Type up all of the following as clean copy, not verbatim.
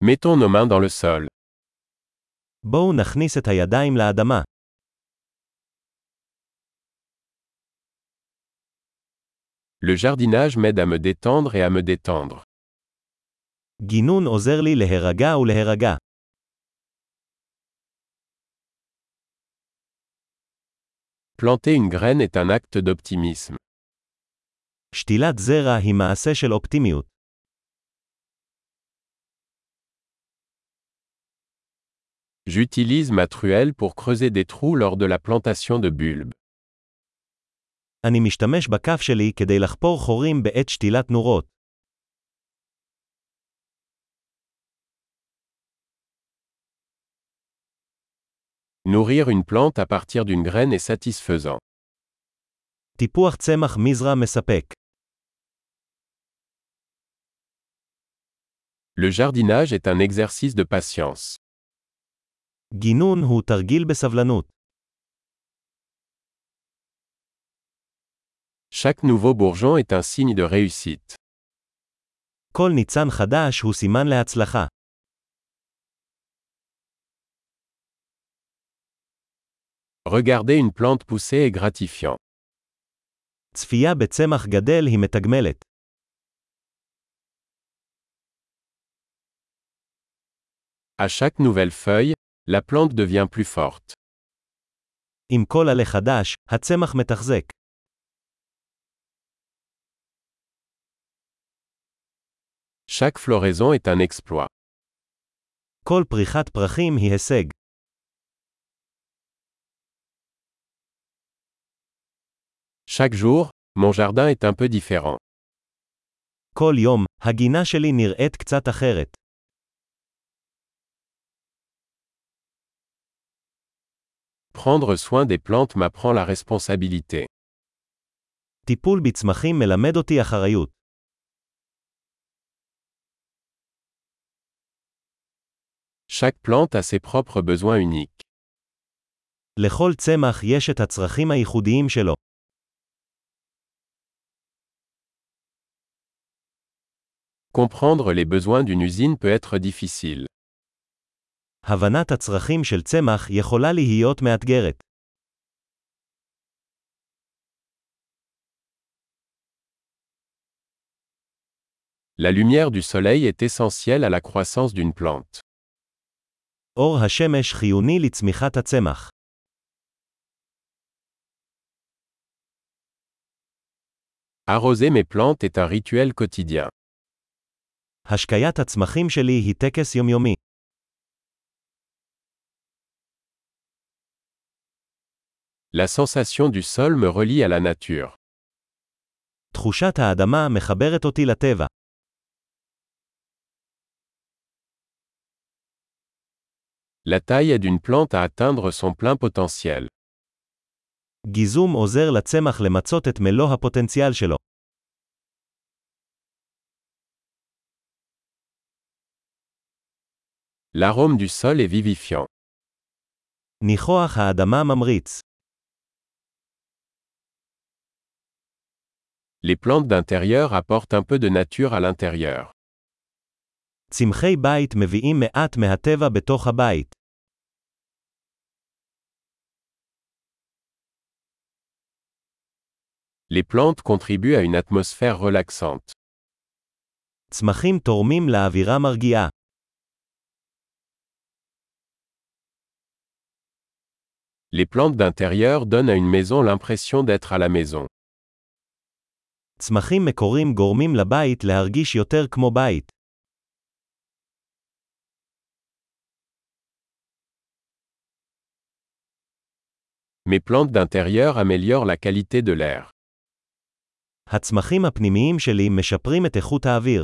Mettons nos mains dans le sol. בואו נכניס את הידיים לאדמה. Le jardinage m'aide à me détendre et à me détendre. גינון עוזר לי להירגע ולהירגע. Planter une graine est un acte d'optimisme. שתילת זרע היא מעשה של אופטימיות. J'utilise ma truelle pour creuser des trous lors de la plantation de bulbes. אני משתמש בכף שלי כדי לחפור חורים בעת שתילת נורות. Nourrir une plante à partir d'une graine est satisfaisant. טיפוח צמח מזרע מספק. Le jardinage est un exercice de patience. גינון הוא תרגיל בסבלנות. Chaque nouveau bourgeon est un signe de réussite. כל ניצן חדש הוא סימן להצלחה. Regarder une plante pousser est gratifiant. צפייה בצמח גדל היא מתגמלת. À chaque nouvelle feuille, la plante devient plus forte. עם כל עלה חדש, הצמח מתחזק. Chaque floraison est un exploit. כל פריחת פרחים היא הישג. Chaque jour, mon jardin est un peu différent. כל יום, הגינה שלי נראית קצת אחרת. Prendre soin des plantes m'apprend la responsabilité. טיפול בצמחים מלמד אותי אחריות. Chaque plante a ses propres besoins uniques. לכל צמח יש את הצרכים הייחודיים שלו. Comprendre les besoins d'une usine peut être difficile. הבנת הצרכים של צמח יכולה להיות מאתגרת. La lumière du soleil est essentielle à la croissance d'une plante. אור השמש חיוני לצמיחת הצמח. Arroser mes plantes est un rituel quotidien. השקיית הצמחים שלי היא טקס יומיומי. La sensation du sol me relie à la nature. תחושת האדמה מחברת אותי לטבע. La taille aide une plante à atteindre son plein potentiel. גיזום עוזר לצמח למצות את מלוא הפוטנציאל שלו. L'arôme du sol est vivifiant. ניחוח האדמה ממריץ. Les plantes d'intérieur apportent un peu de nature à l'intérieur. צמחי בית מביאים מעט מהטבע בתוך הבית. Les plantes contribuent à une atmosphère relaxante. צמחים תורמים לאווירה מרגיעה. Les plantes d'intérieur donnent à une maison l'impression d'être à la maison. צמחים מקורים גורמים לבית להרגיש יותר כמו בית. Mes plantes d'intérieur améliorent la qualité de l'air. הצמחים הפנימיים שלי משפרים את איכות האוויר.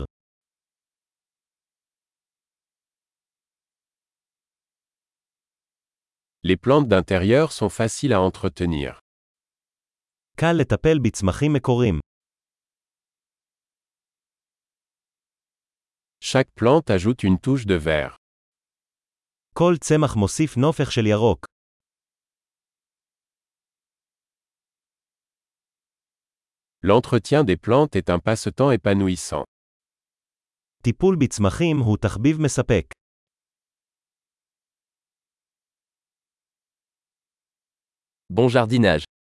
Les plantes d'intérieur sont faciles à entretenir. קל לטפל בצמחים מקורים. Chaque plante ajoute une touche de vert. כל צמח מוסיף נופך של ירוק. L'entretien des plantes est un passe-temps épanouissant. הטיפול בצמחים הוא תחביב מספק. Bon jardinage.